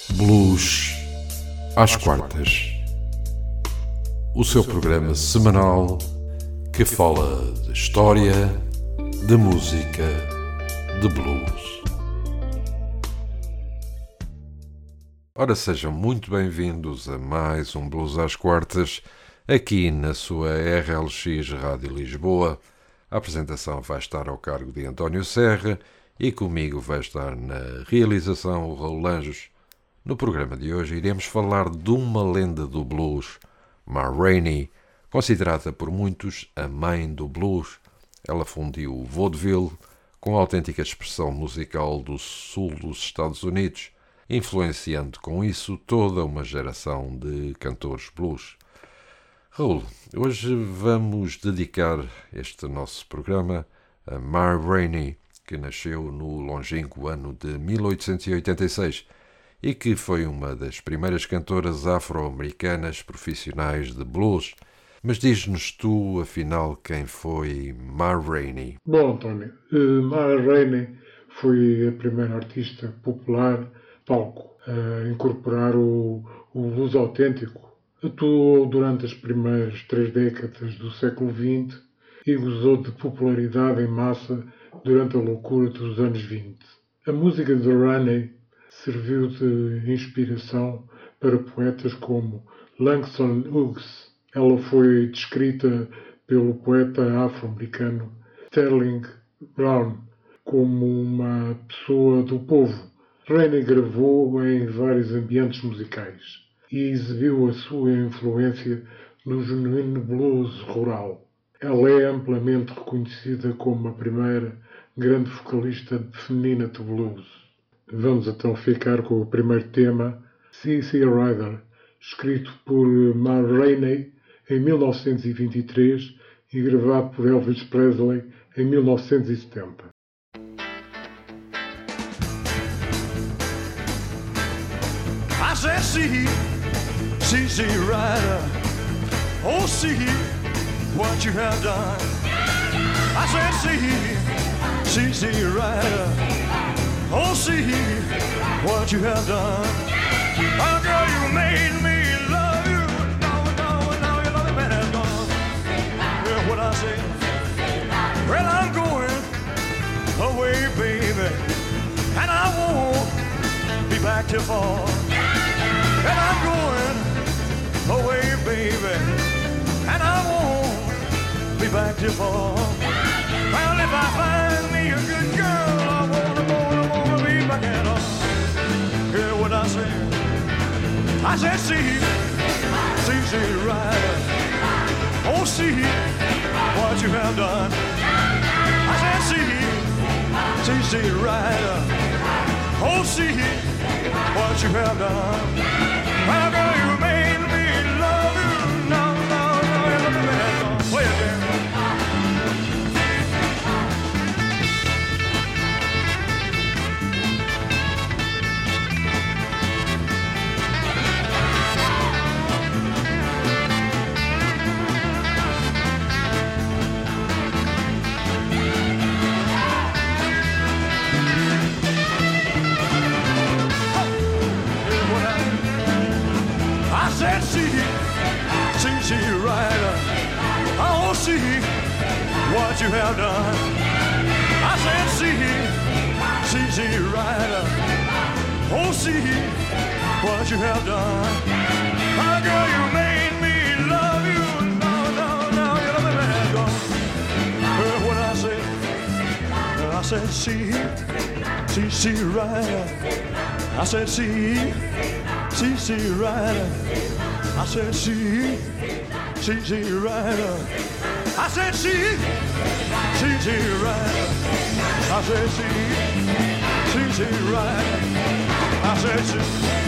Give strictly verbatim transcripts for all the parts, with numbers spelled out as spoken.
Blues às quartas. O seu programa semanal que fala de história, de música, de blues. Ora, sejam muito bem-vindos a mais um Blues às quartas, aqui na sua R L X Rádio Lisboa. A apresentação vai estar ao cargo de António Serra e comigo vai estar na realização o Raul Anjos. No programa de hoje iremos falar de uma lenda do blues, Ma Rainey, considerada por muitos a mãe do blues. Ela fundiu o vaudeville com a autêntica expressão musical do sul dos Estados Unidos, influenciando com isso toda uma geração de cantores blues. Raul, hoje vamos dedicar este nosso programa a Ma Rainey, que nasceu no longínquo ano de mil oitocentos e oitenta e seis e que foi uma das primeiras cantoras afro-americanas profissionais de blues. Mas diz-nos tu, afinal, quem foi Ma Rainey? Bom, António, Ma Rainey foi a primeira artista popular palco a incorporar o, o blues autêntico. Atuou durante as primeiras três décadas do século vinte e gozou de popularidade em massa durante a loucura dos anos vinte. A música de Rainey serviu de inspiração para poetas como Langston Hughes. Ela foi descrita pelo poeta afro-americano Sterling Brown como uma pessoa do povo. Rainey gravou em vários ambientes musicais e exibiu a sua influência no genuíno blues rural. Ela é amplamente reconhecida como a primeira grande vocalista feminina de blues. Vamos então ficar com o primeiro tema, C C Rider, escrito por Ma Rainey em mil novecentos e vinte e três e gravado por Elvis Presley em mil novecentos e setenta. I said, see, C C Rider, oh, see what you have done. I said, see, C C Rider, oh, see what you have done. Oh, girl, you made me love you. Now, now, now you love me better than gone. Hear what I say? Well, I'm going away, baby, and I won't be back till fall. And I'm going away, baby, and I won't be back till fall. Well, if I find me a good girl, I wanna, wanna, wanna be back at all. Hear what I said? I said, see, see, see, Rider, oh, see what you have done. I said, see, see, see, Rider, oh, see what you have done. Well, girl, you made me love you. No, no, no, you love me better gone. Play it, girl. I said, see, see, see, Rider, oh, see what you have done. I said, see, see, see, Rider, oh, see what you have done. Oh, girl, you made me love you. No, no, no, you love me better gone. Heard what I said? I said, see, see, see, Rider. I said, see, see, see, Rider. I said, see, see, see, Rider. I said, see, see, see, Rider. I said, see, see, see, Rider. I said, see.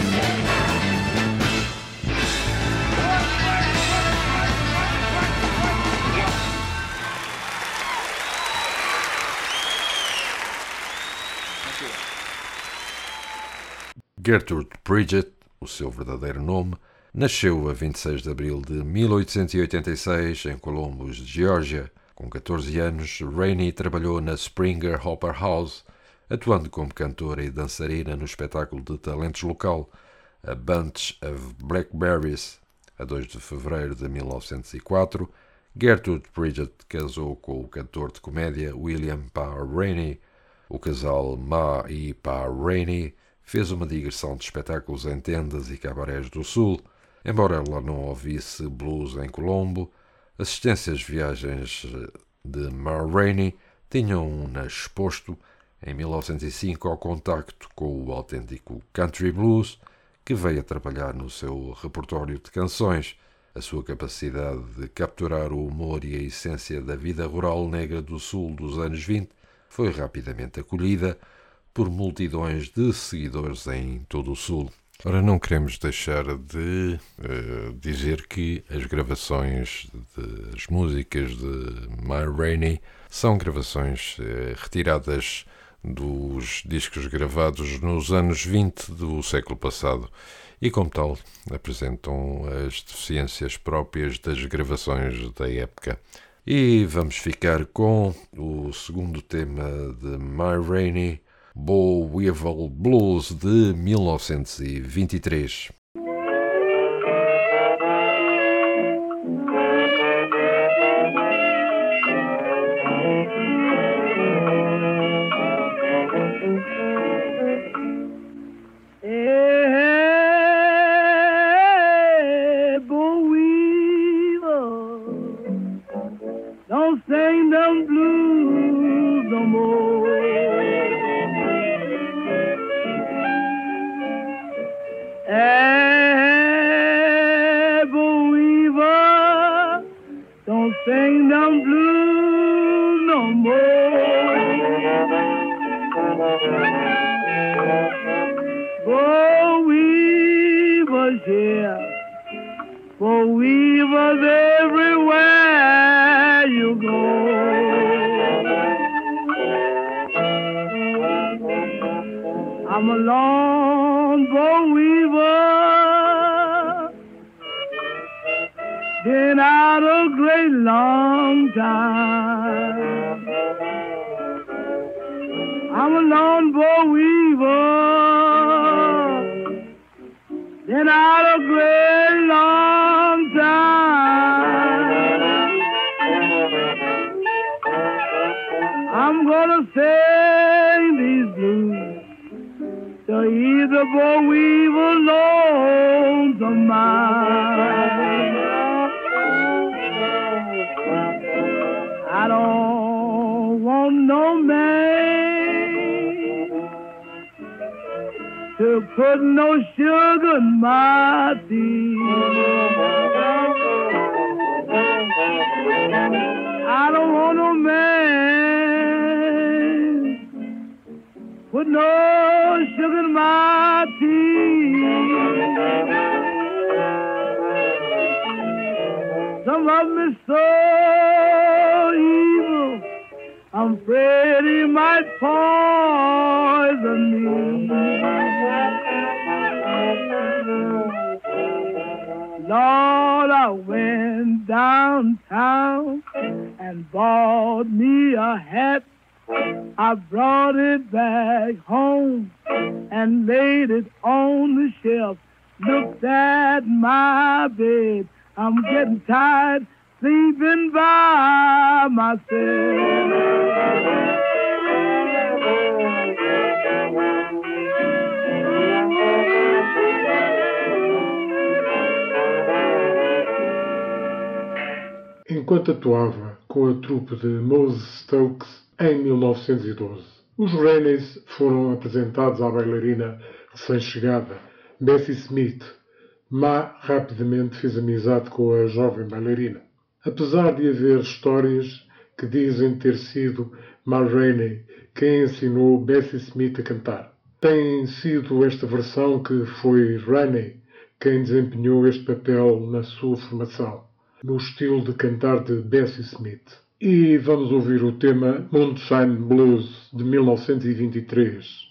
Gertrude Bridget, o seu verdadeiro nome, nasceu a vinte e seis de abril de mil oitocentos e oitenta e seis em Columbus, Geórgia. Com catorze anos, Rainey trabalhou na Springer Opera House, atuando como cantora e dançarina no espetáculo de talentos local. A Bunch of Blackberries, a dois de fevereiro de mil novecentos e quatro, Gertrude Bridget casou com o cantor de comédia William Parr Rainey. O casal Ma e Parr Rainey fez uma digressão de espetáculos em tendas e cabarés do Sul. Embora ela não ouvisse blues em Colombo, assistências viagens de Ma Rainey tinham-na exposto em mil novecentos e cinco ao contacto com o autêntico country blues, que veio a trabalhar no seu repertório de canções. A sua capacidade de capturar o humor e a essência da vida rural negra do Sul dos anos vinte foi rapidamente acolhida por multidões de seguidores em todo o Sul. Ora, não queremos deixar de uh, dizer que as gravações das músicas de Ma Rainey são gravações uh, retiradas dos discos gravados nos anos vinte do século passado e, como tal, apresentam as deficiências próprias das gravações da época. E vamos ficar com o segundo tema de Ma Rainey, Boll Weevil Blues, de mil novecentos e vinte e três. Enquanto atuava com a trupe de Moses Stokes em mil novecentos e doze, os Raineys foram apresentados à bailarina recém-chegada, Bessie Smith. Ma rapidamente fez amizade com a jovem bailarina. Apesar de haver histórias que dizem ter sido Ma Rainey quem ensinou Bessie Smith a cantar, tem sido esta versão que foi Rainey quem desempenhou este papel na sua formação, no estilo de cantar de Bessie Smith. E vamos ouvir o tema Moonshine Blues, de mil novecentos e vinte e três.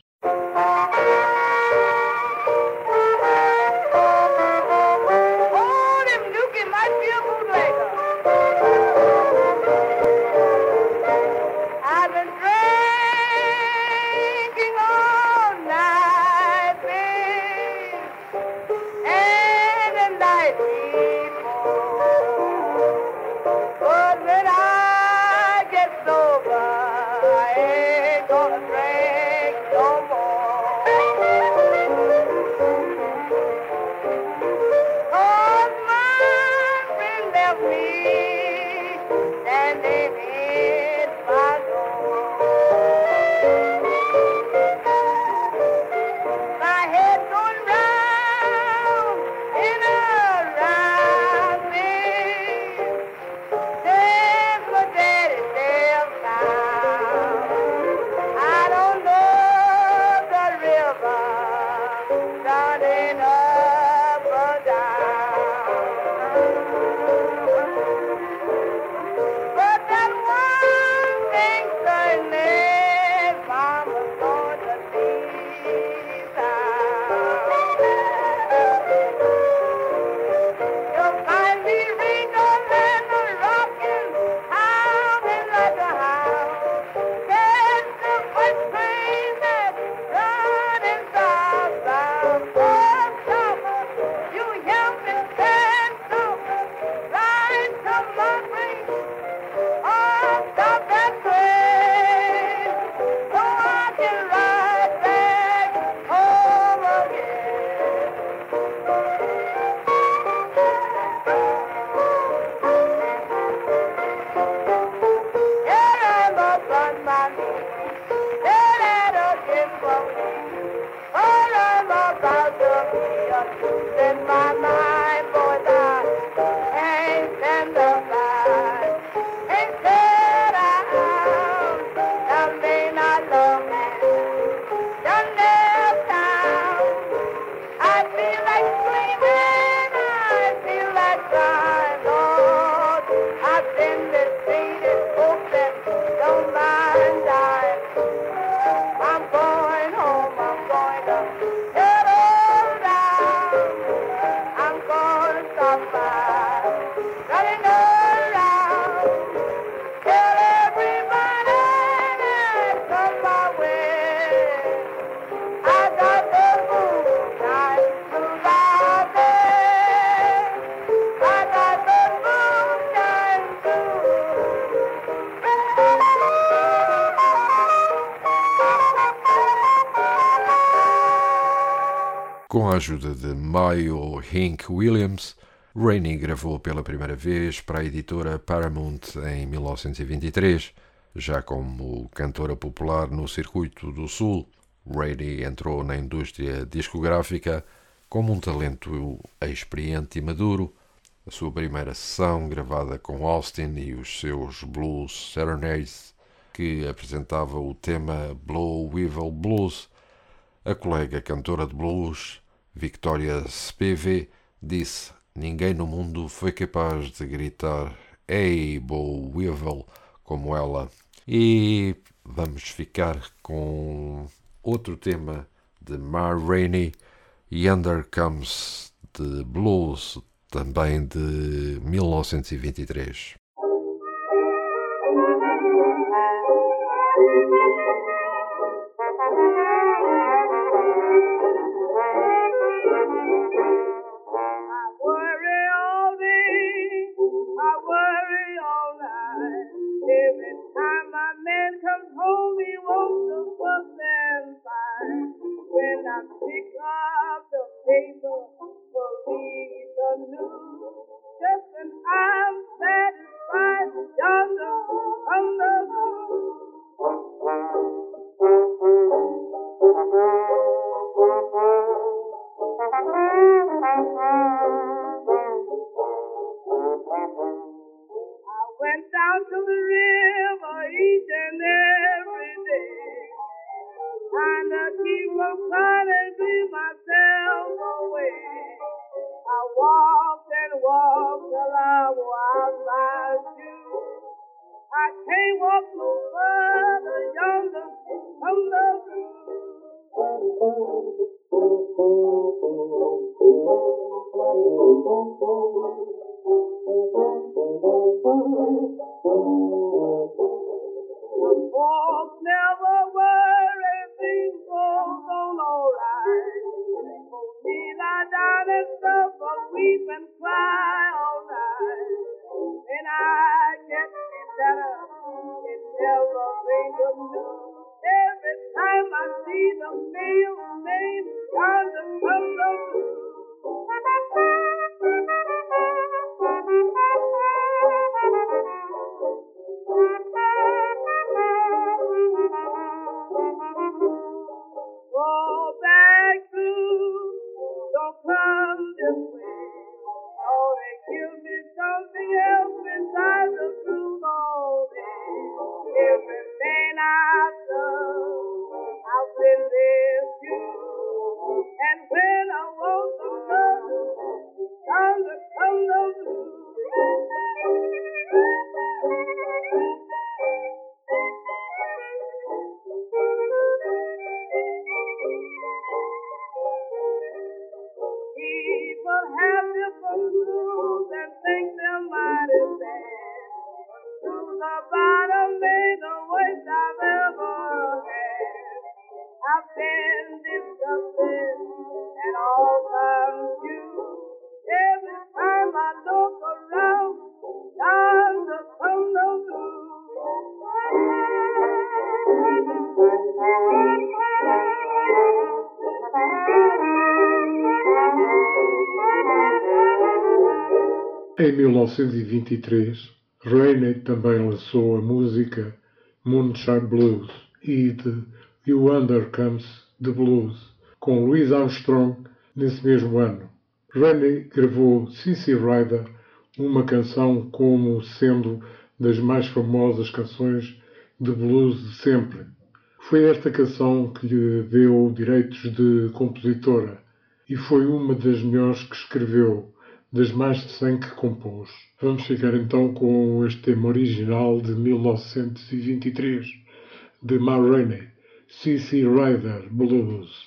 Com a ajuda de Mayo Hank Williams, Rainey gravou pela primeira vez para a editora Paramount em mil novecentos e vinte e três. Já como cantora popular no circuito do Sul, Rainey entrou na indústria discográfica como um talento experiente e maduro. A sua primeira sessão, gravada com Austin e os seus Blues Serenades, que apresentava o tema Blue Weevil Blues, a colega cantora de blues, Victoria Spivey, disse: "Ninguém no mundo foi capaz de gritar Hey, Blue Weevil como ela." E vamos ficar com outro tema de Ma Rainey, Yonder Comes the Blues, também de mil novecentos e vinte e três. Em mil novecentos e vinte e três, Rainey também lançou a música Moonshine Blues e The Yonder Comes the Blues, com Louis Armstrong nesse mesmo ano. Rennie gravou Sissy Rider, uma canção como sendo das mais famosas canções de blues de sempre. Foi esta canção que lhe deu direitos de compositora e foi uma das melhores que escreveu, das mais de cem que compôs. Vamos ficar então com este tema original de mil novecentos e vinte e três, de Ma Rainey, Sissy Rider Blues.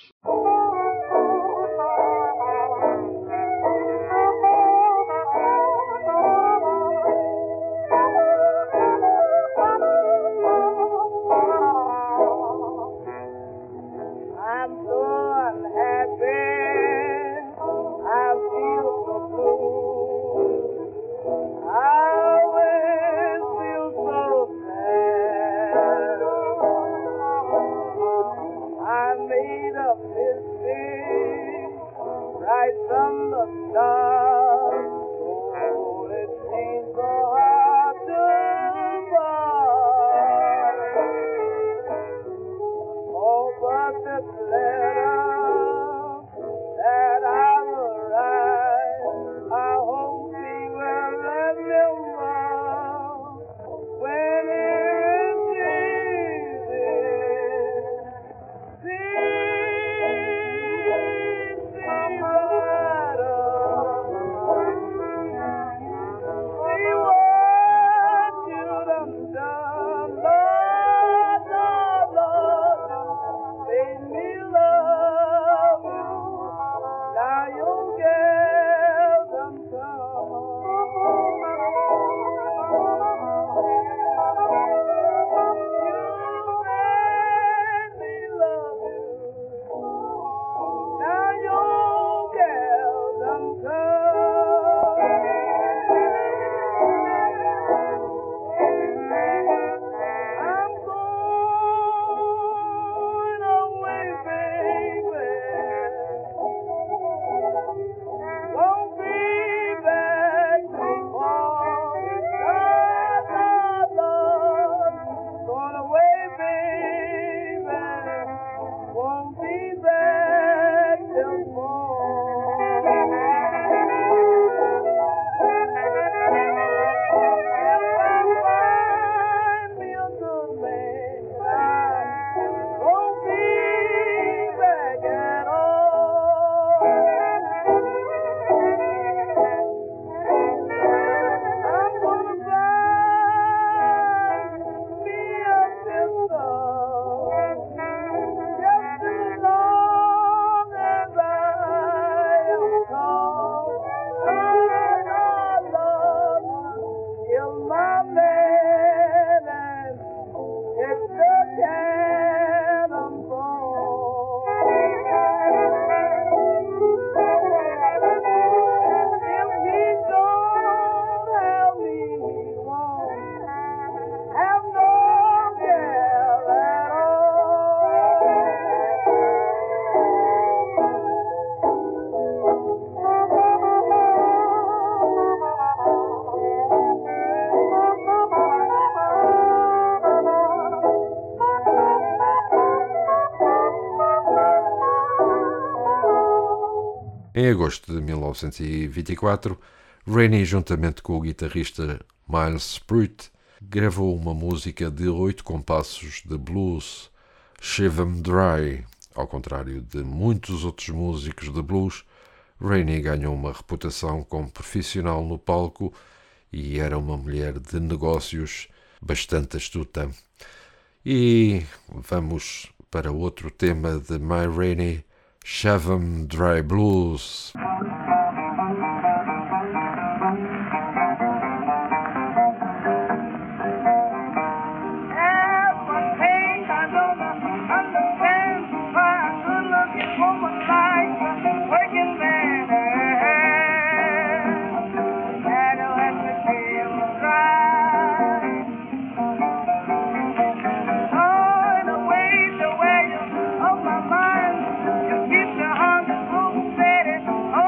Em agosto de mil novecentos e vinte e quatro, Rennie, juntamente com o guitarrista Miles Pruitt, gravou uma música de oito compassos de blues, Shave 'Em Dry. Ao contrário de muitos outros músicos de blues, Rennie ganhou uma reputação como profissional no palco e era uma mulher de negócios bastante astuta. E vamos para outro tema de Ma Rainey, Shave 'Em Dry Blues. Oh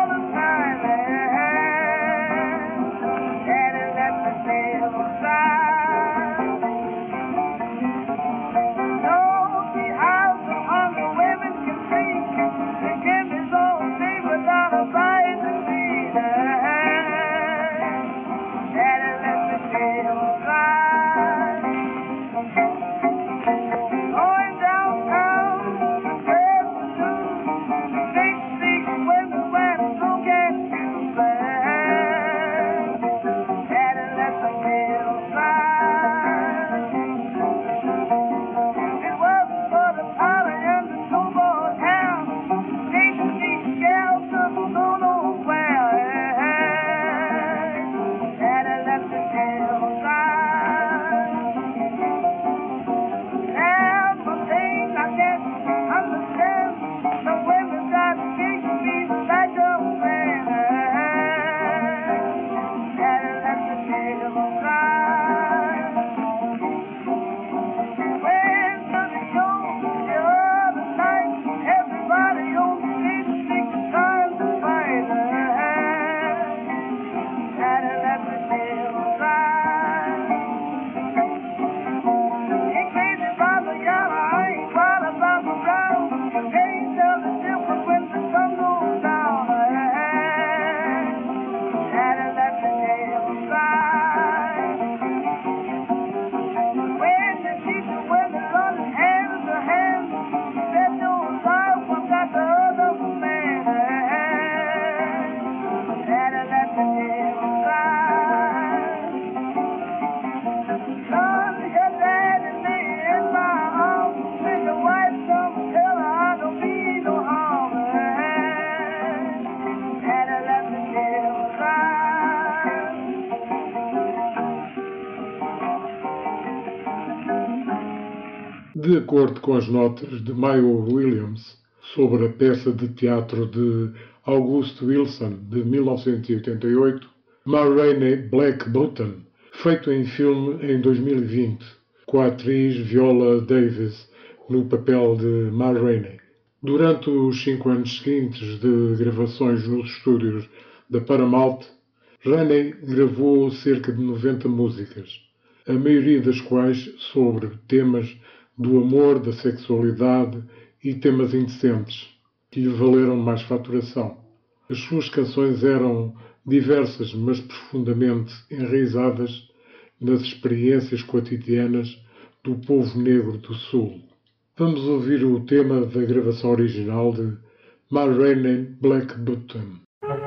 De acordo com as notas de Mayo Williams sobre a peça de teatro de August Wilson de mil novecentos e oitenta e oito, Ma Rainey Black Button, feito em filme em dois mil e vinte, com a atriz Viola Davis no papel de Ma Rainey. Durante os cinco anos seguintes de gravações nos estúdios da Paramount, Rainey gravou cerca de noventa músicas, a maioria das quais sobre temas do amor, da sexualidade e temas indecentes, que lhe valeram mais faturação. As suas canções eram diversas, mas profundamente enraizadas nas experiências cotidianas do povo negro do Sul. Vamos ouvir o tema da gravação original de Ma Rainey Black Button.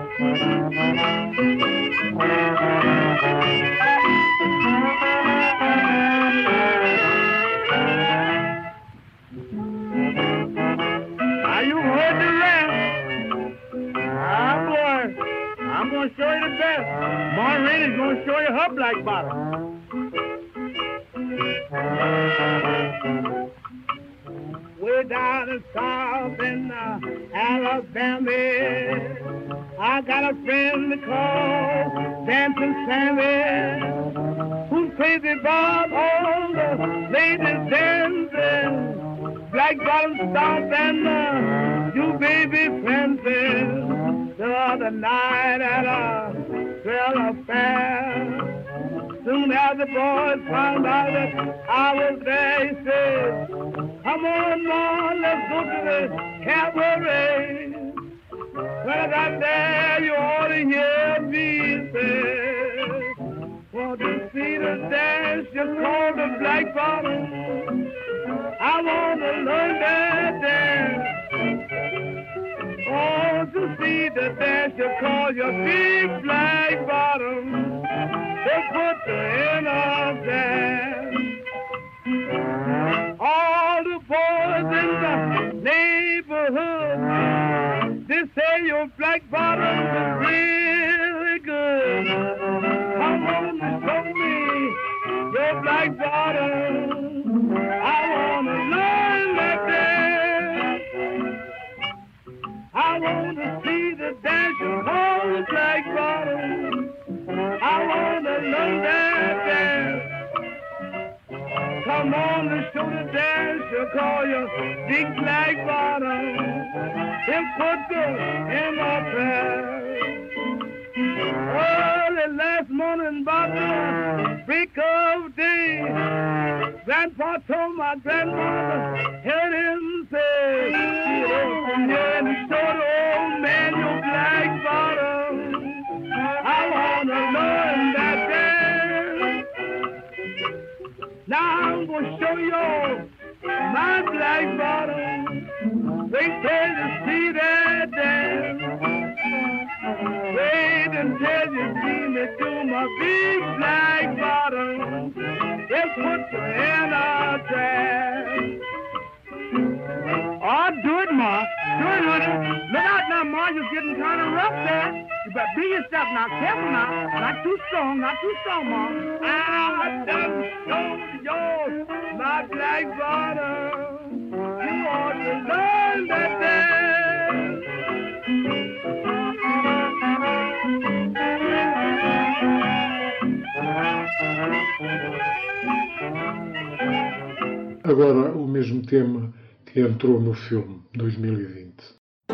Are you heard the rap? Ah, boy, I'm going to show you the best. Ma Rainey's going to show you her black bottom. Way down in South in uh, Alabama, I got a friend called Dancing Sammy, who's crazy about all the ladies dancing, black bottom stomp and uh, you baby fencing. The other night at a trail affair, soon as the boys found out that I was there, he said, come on, Ma, let's go to the cabaret. When I got there, you ought to hear me say, want to see the dance you call the black bottom. I want to learn that dance. Oh, to see the dance you call your big black bottom. They put the end of dance. All the boys in the neighborhood, they say your black bottom is really good. Come on and show me your black bottom. I want to learn that dance. I want to see the dance you call the black bottom. I want to learn that dance. Come on and show the dance you call your big black bottom. And put the in my pants. Early last morning about the break of day, Grandpa told my grandmother, heard him say, yeah, and show the old man your black bottom. I want to learn that dance. Now I'm going to show you my black bottom. Wait till you see that dance. Wait until you see me do my big black bottom. Just put your hand on dance. Oh, do it, Ma. Do it, honey. Look out now, Ma. You're getting kind of rough there. You better be yourself now. Careful now. Not too strong. Not too strong, Ma. I done showed yours my black bottom. You ought to learn that dance. Agora o mesmo tema que entrou no filme dois mil e vinte.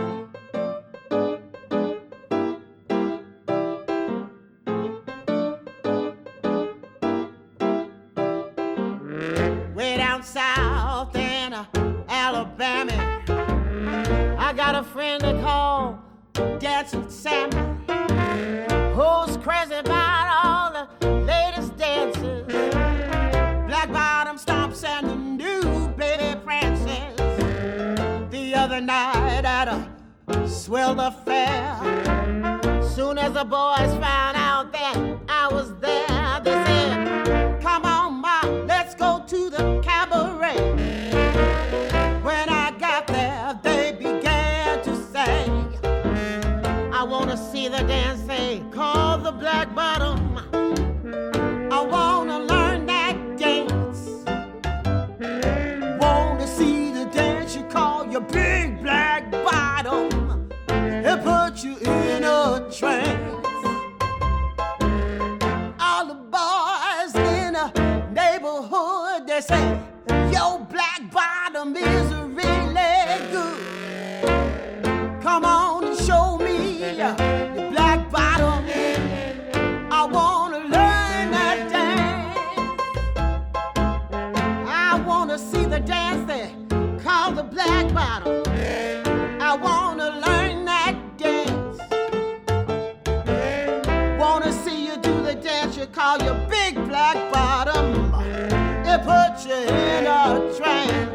Way down south in uh, Alabama, I got a friend they call Dancing Sammy, who's crazy about all the latest dances, black bottom stomps and the new baby prances. The other night at a swell affair, soon as the boys found out that I was there, they said, come on, Ma, let's go to the cabaret. When I got there, they began to say, I want to see the dance they call the black bottom. I want to learn that dance. Won't it puts you in a trance. All the boys in the neighborhood, they say, your black bottom is really good. Come on and show me your black bottom. I wanna learn that dance. I wanna see the dance they call the black bottom. I wanna learn that dance. Wanna see you do the dance you call your big black bottom. It puts you in a trance.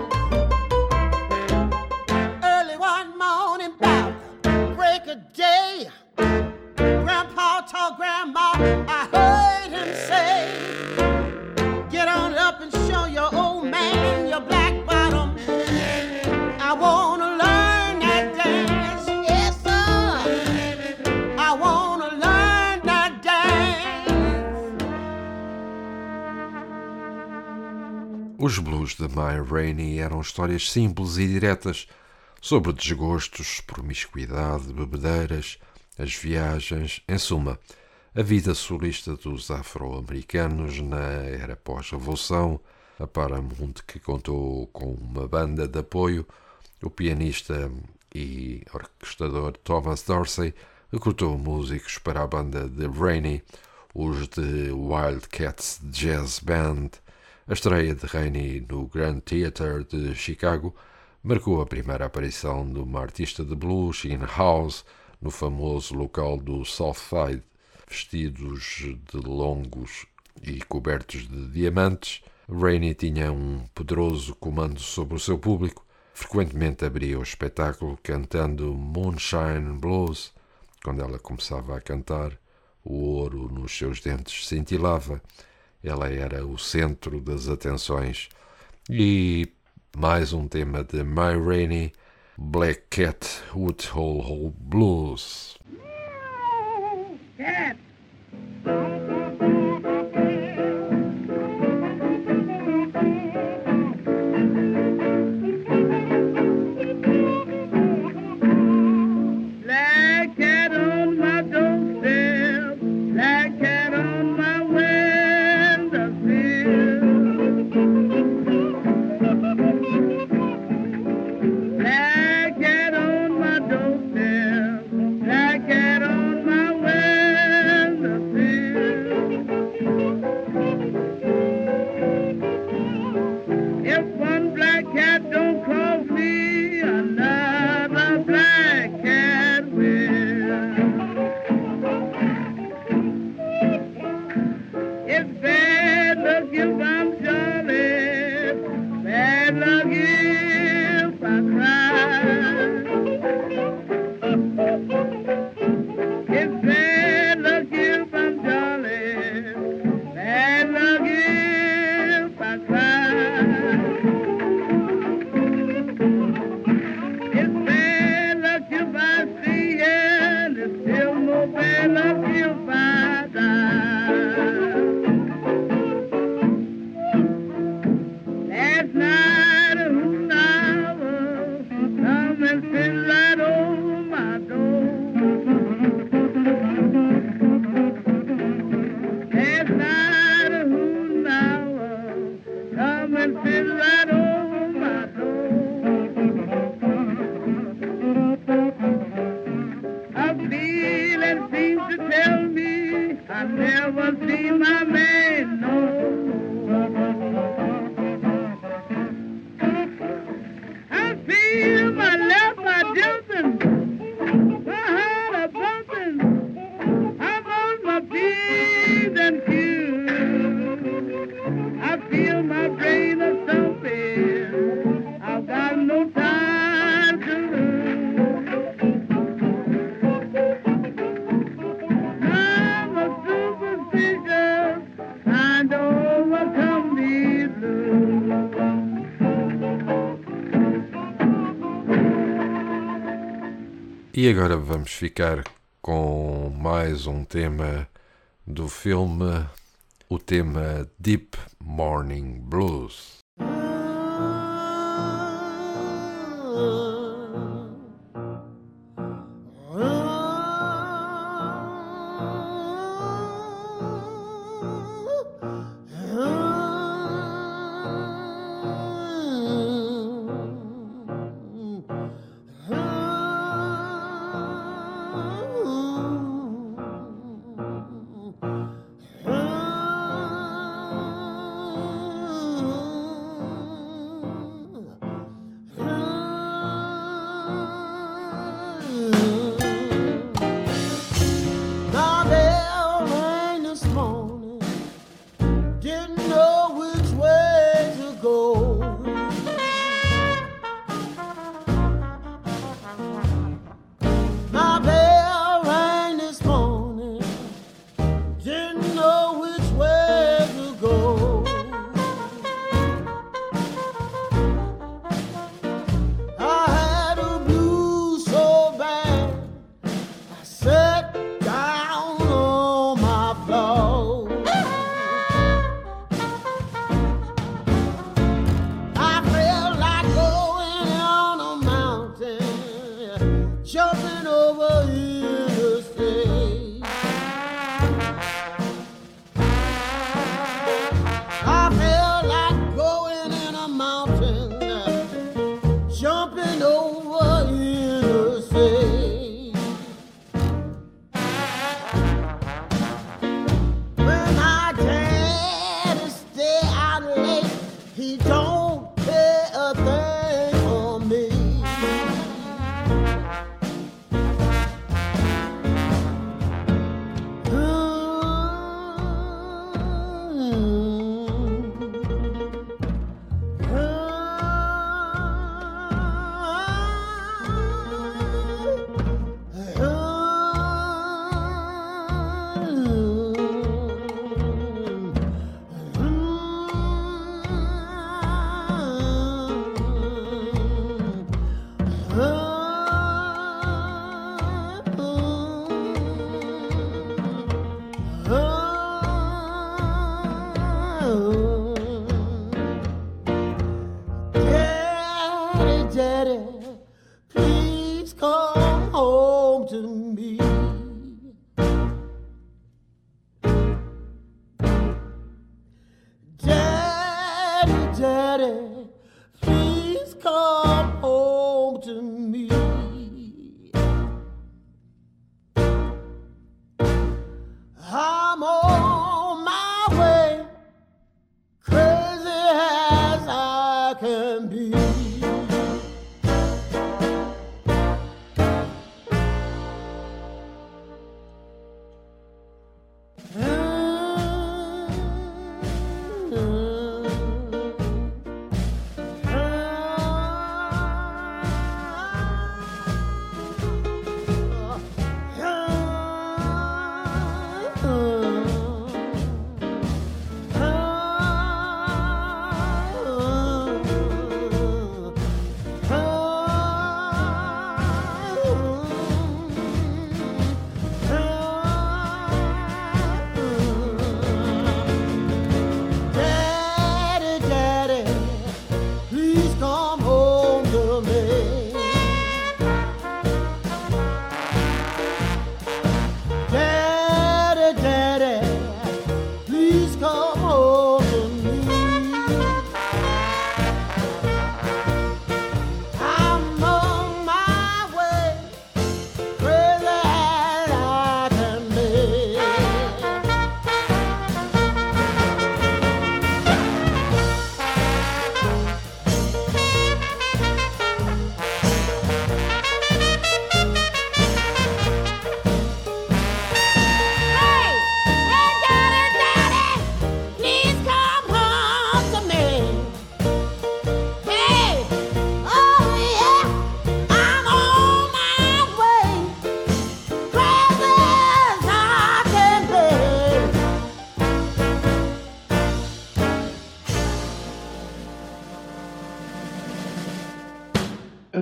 Early one morning, about break of day, Grandpa told Grandma, I heard him say, get on up and show your old man your black bottom. I wanna learn that dance, yes sir. I wanna learn that dance. Os blues de Ma Rainey eram histórias simples e diretas sobre desgostos, promiscuidade, bebedeiras, as viagens, em suma, a vida solista dos afro-americanos na era pós-revolução. A Paramount, que contou com uma banda de apoio, o pianista e orquestrador Thomas Dorsey recrutou músicos para a banda de Rainey, os de Wildcats Jazz Band. A estreia de Rainey no Grand Theatre de Chicago marcou a primeira aparição de uma artista de blues in house no famoso local do South Side. Vestidos de longos e cobertos de diamantes, Rainey tinha um poderoso comando sobre o seu público. Frequentemente abria o espetáculo cantando Moonshine Blues. Quando ela começava a cantar, o ouro nos seus dentes cintilava. Ela era o centro das atenções. E mais um tema de Ma Rainey, Black Cat Woodhull Blues. Cat. Black cat on my doorstep, black cat on my windowsill. Black cat on my doorstep, black cat on my windowsill. If one black cat don't cross me, another black cat will. It's bad luck if I'm jolly, bad luck if I cry. It's bad luck if I'm jolly, bad luck if I cry. It's bad luck if I see and it's still more bad luck if I die. Last night a hoot owl come and sit right over my door. Last night a hoot owl come and sit right over my door. A feeling seems to tell me I never see my man no more. I feel my left eye jumping, my heart a bumping, I'm on my P's and Q's. I feel my brain a thumping, I've got no time to lose. I'm a superstitious, trying to overcome these blues. E agora vamos ficar com mais um tema do filme, o tema Deep Morning Blues. Ooh,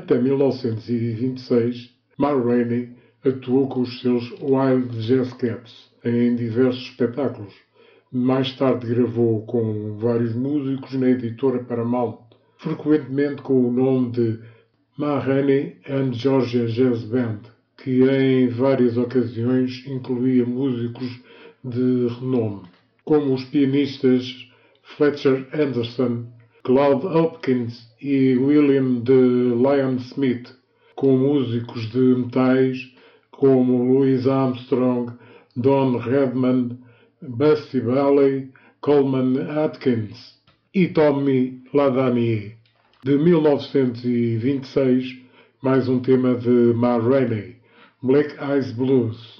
Até mil novecentos e vinte e seis, Ma Rainey atuou com os seus Wild Jazz Cats em diversos espetáculos. Mais tarde gravou com vários músicos na editora Paramount, frequentemente com o nome de Ma Rainey and Georgia Jazz Band, que em várias ocasiões incluía músicos de renome, como os pianistas Fletcher Henderson, Claude Hopkins e William de Lyon Smith, com músicos de metais como Louis Armstrong, Don Redman, Busty Bailey, Coleman Atkins e Tommy Ladanier. De mil novecentos e vinte e seis, mais um tema de Ma Rainey, Black Eyes Blues.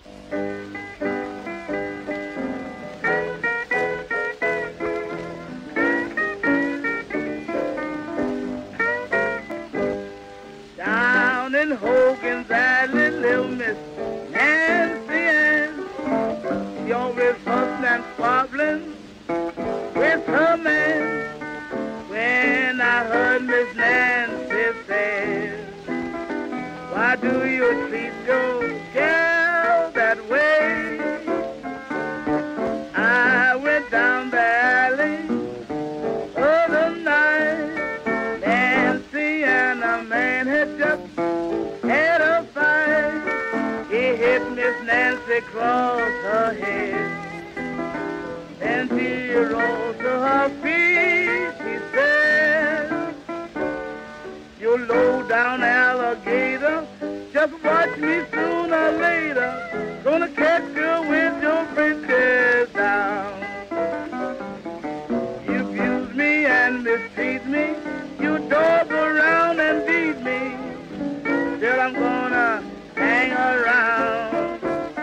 Down in Hogan's Alley, little Miss Nancy Ann, she always fussing and squabbling with her man. When I heard Miss Nancy say, why do you treat your girl that way? I went down the alley other night. Nancy and a man had just had a fight. He hit Miss Nancy across her head, and she rose to her feet. She said, you low-down alligator, just watch me sooner or later, gonna catch you with your britches down. You abuse me and mistreat me, you dog around and beat me, till I'm gonna hang around.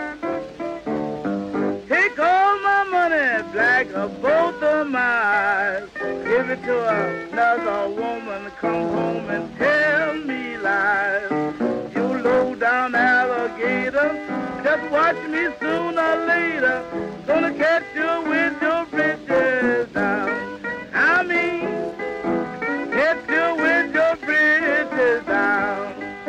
Take all my money, black or both of my eyes, give it to another woman, come home and tell me lies. You low-down alligator, just watch me sooner or later, gonna catch you with your britches down. I mean, catch you with your britches down.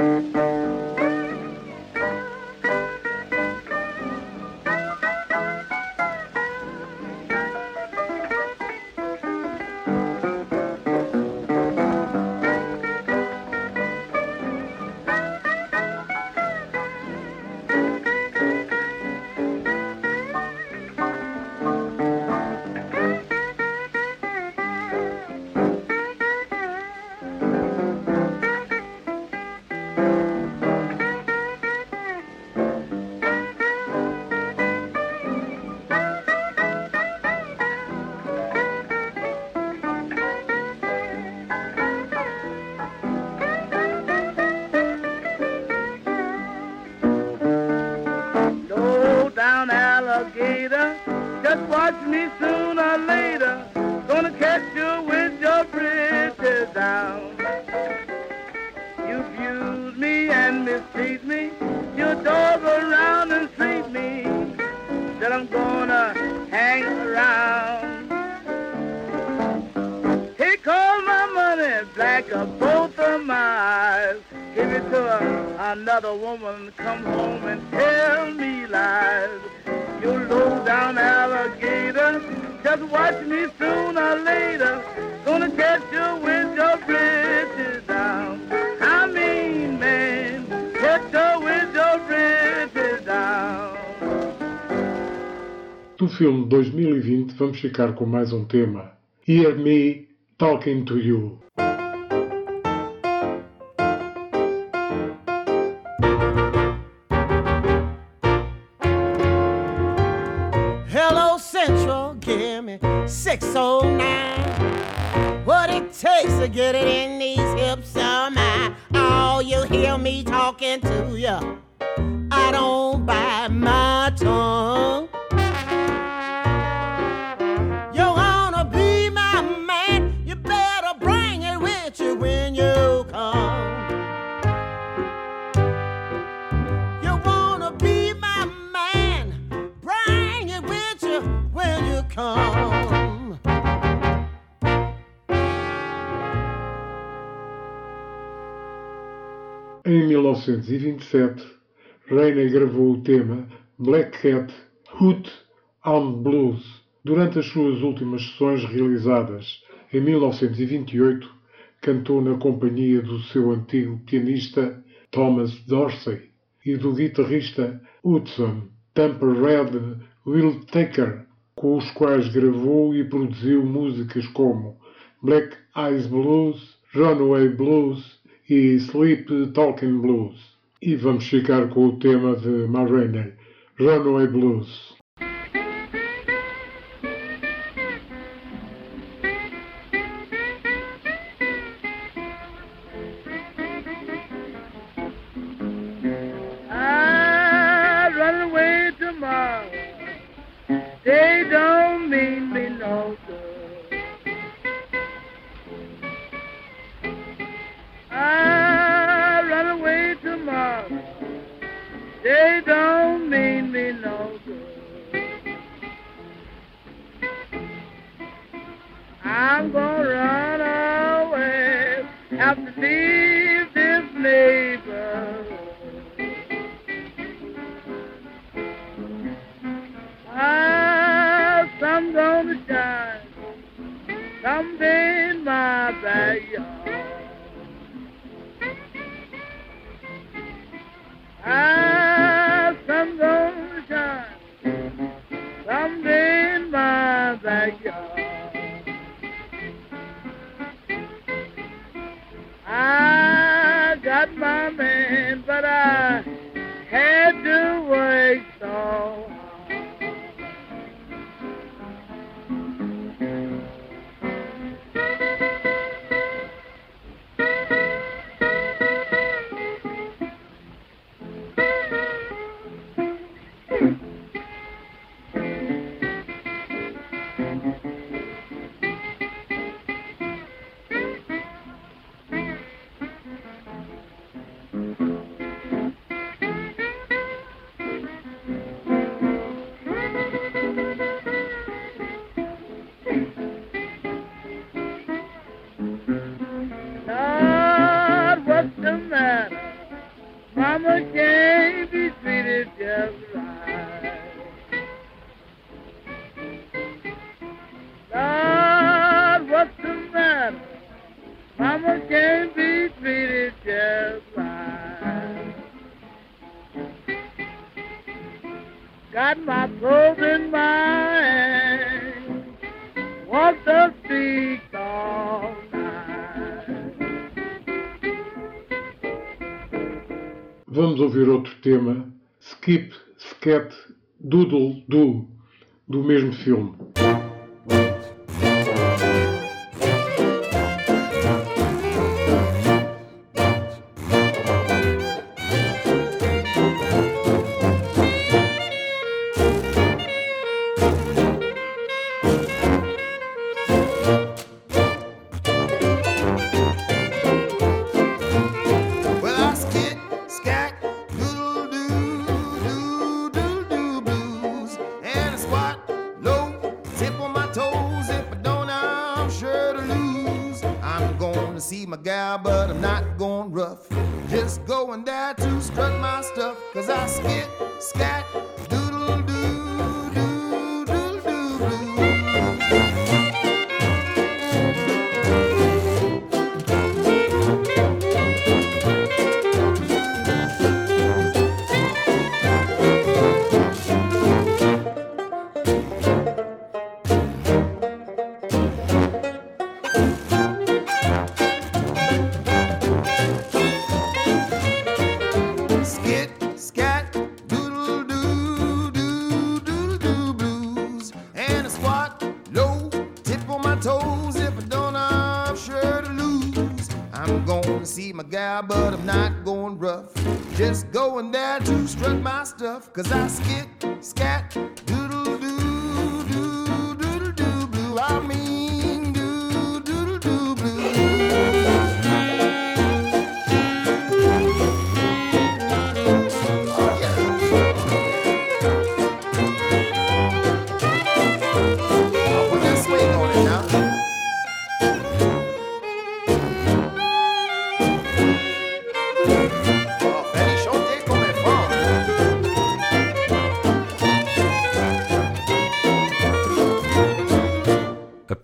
Just watch me sooner or later, gonna catch you with your britches down. You abuse me and mistreat me, you dog around and treat me, till I'm gonna hang around. Take all my money, black or both of my eyes, give it to a, another woman, come home and tell me lies. You low-down alligator, just watch me sooner or later, gonna catch you with your britches down. I mean, man, catch you with your britches down. Do filme dois mil e vinte, vamos ficar com mais um tema. Hear Me Talking to You. Give me six oh nine. What it takes to get it in these hips of mine. Oh, you hear me talking to ya, I don't bite my tongue. You wanna be my man, you better bring it with you when you come. You wanna be my man, bring it with you when you come. novecentos e vinte e sete, Rainey gravou o tema Black Cat Hoot on Blues. Durante as suas últimas sessões realizadas em mil novecentos e vinte e oito, cantou na companhia do seu antigo pianista Thomas Dorsey e do guitarrista Hudson Tampa-Red Whittaker, com os quais gravou e produziu músicas como Black Eyes Blues, Runaway Blues e Sleep Talking Blues. E vamos ficar com o tema de Ma Rainey, Runaway Blues. They don't mean me no good. I run away tomorrow. They don't mean me no good. I'm gonna run away, have to leave this neighborhood. Ah, sun gonna shine someday in my backyard. Ah, sun gonna shine someday in my backyard. I got my man, but I had to wait so hard. Mama can't be treated just right. Lord, what's the matter? Mama can't be treated just right. Got my clothes in my hand, walk the streets all night. Vamos ouvir outro tema, Skip, Scat, Doodle Doo, do mesmo filme. See my gal, but I'm not going rough. Just going there to strut my stuff. Cause I skit, scat, doodle doo, doo, doodle doo, doo. See my gal, but I'm not going rough. Just going there to strut my stuff. Cause I skit, scat, doodle doo, doo, doodle doo blue. I mean doo, doodle doo blue. Oh yeah. I'll put that swing on it now. Oh,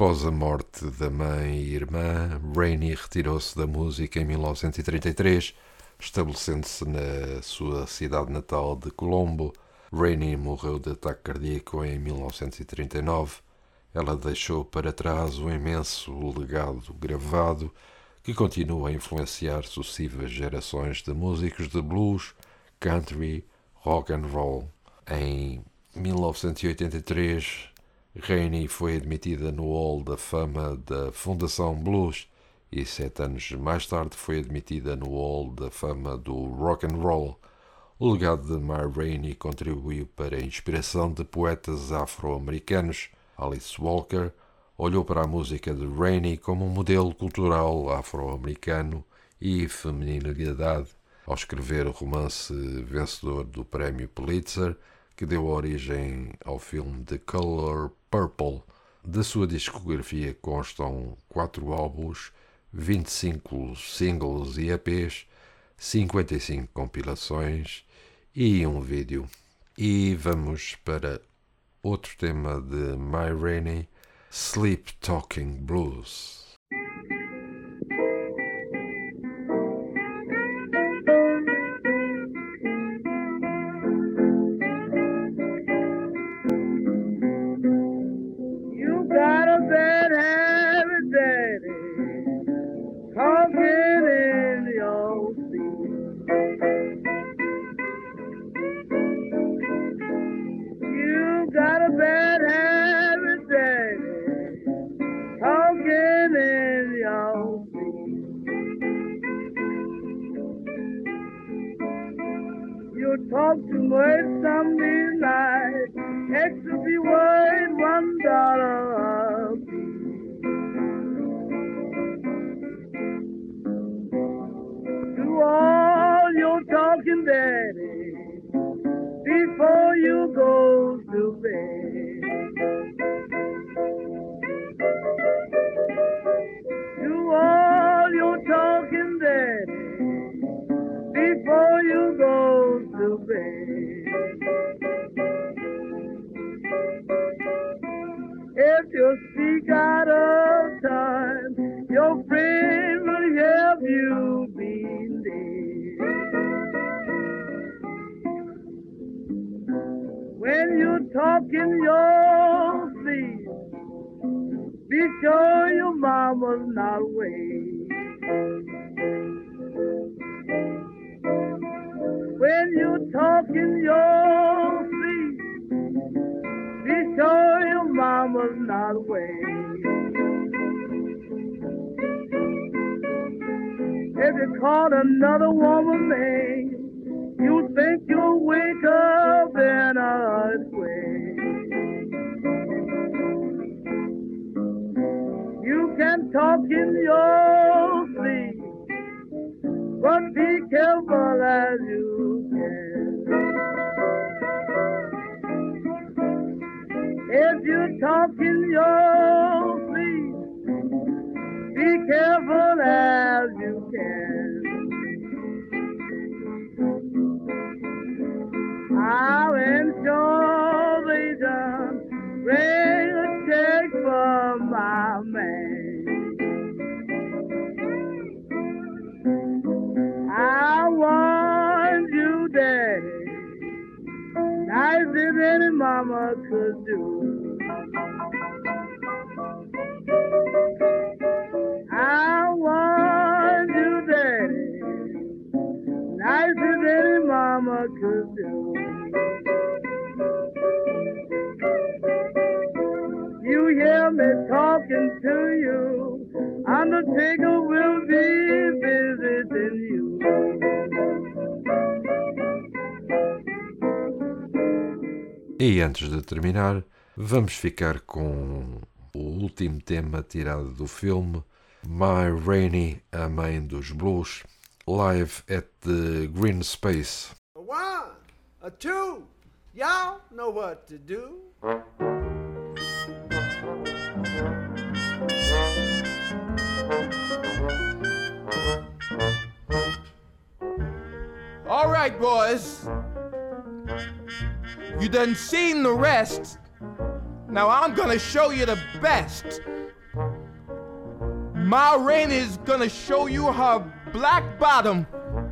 Após a morte da mãe e irmã, Rainey retirou-se da música em mil novecentos e trinta e três, estabelecendo-se na sua cidade natal de Colombo. Rainey morreu de ataque cardíaco em mil novecentos e trinta e nove. Ela deixou para trás um imenso legado gravado que continua a influenciar sucessivas gerações de músicos de blues, country, rock and roll. Em mil novecentos e oitenta e três, Rainey foi admitida no Hall da Fama da Fundação Blues e sete anos mais tarde foi admitida no Hall da Fama do Rock and Roll. O legado de Ma Rainey contribuiu para a inspiração de poetas afro-americanos. Alice Walker olhou para a música de Rainey como um modelo cultural afro-americano e feminilidade ao escrever o romance vencedor do Prémio Pulitzer, que deu origem ao filme The Color Purple. Da sua discografia constam quatro álbuns, vinte e cinco singles e E Pês, cinquenta e cinco compilações e um vídeo. E vamos para outro tema de Ma Rainey, Sleep Talking Blues. Talk too much some midnight, extra be worth one dollar. Do all your talking, daddy, before you go to bed. Do all your talking, daddy, before you go to bed. If you speak out of time, your friend will help you be dead. When you talk in your sleep, be sure your mama's not awake. When you talk in your sleep, be sure your mama's not awake. If you call another woman name, you think you'll wake up in a earthquake. You can talk in your sleep, but be careful as you can. If you talk in your sleep, be careful as you can. I'll ensure they done bring a check for my man. I want you, Daddy, nice as any mama could do. I want you, Daddy, nice as any mama could do. You hear me talking to you, Undertaker will be visiting you. E antes de terminar, vamos ficar com o último tema tirado do filme Ma Rainey, a mãe dos blues, live at the Green Space. A one, a two, y'all know what to do. All right, boys. You done seen the rest. Now I'm gonna show you the best. Ma Rainey is gonna show you her black bottom.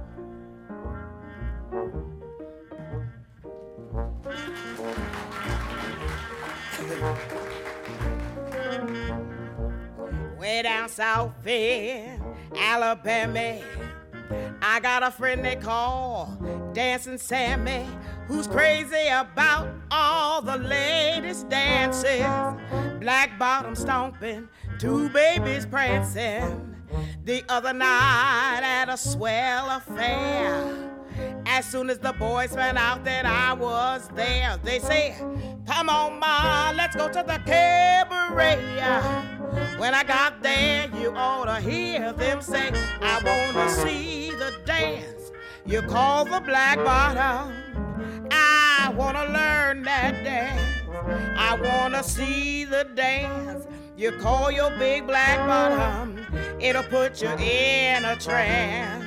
Way down south in Alabama, I got a friend they call Dancing Sammy, who's crazy about all the latest dances. Black bottom stomping, two babies prancing. The other night at a swell affair, as soon as the boys found out that I was there, they said, come on, Ma, let's go to the cabaret. When I got there, you ought to hear them say, I want to see the dance you call the black bottom. I want to learn that dance. I want to see the dance you call your big black bottom. It'll put you in a trance.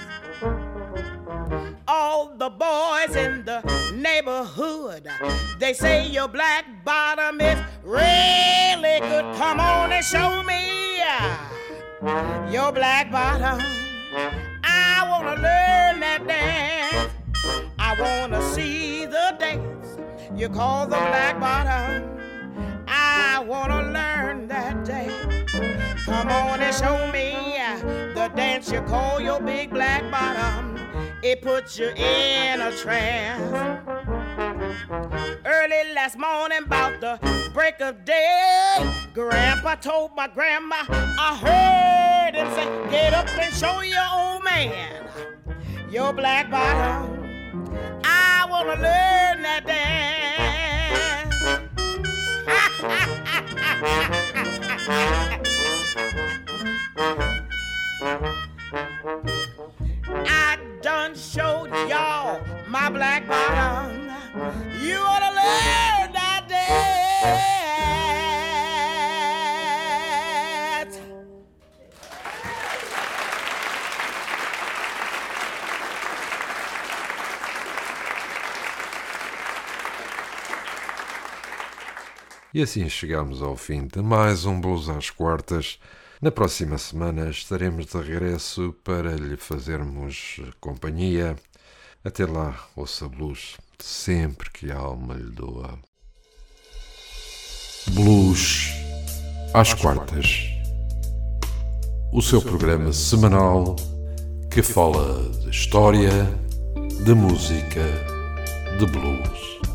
All the boys in the neighborhood, they say your black bottom is really good. Come on and show me your black bottom. I want to learn that dance. I want to see the dance you call the black bottom. I want to learn that dance. Come on and show me the dance you call your big black bottom. It puts you in a trance. Early last morning, about the break of day, Grandpa told my grandma, I heard him say, get up and show your old man your black bottom. I want to learn that dance. I done showed y'all my black bottom. You ought to learn that dance. E assim chegamos ao fim de mais um Blues às Quartas. Na próxima semana estaremos de regresso para lhe fazermos companhia. Até lá, ouça blues sempre que a alma lhe doa. Blues às Quartas. O seu programa semanal que fala de história, de música, de blues.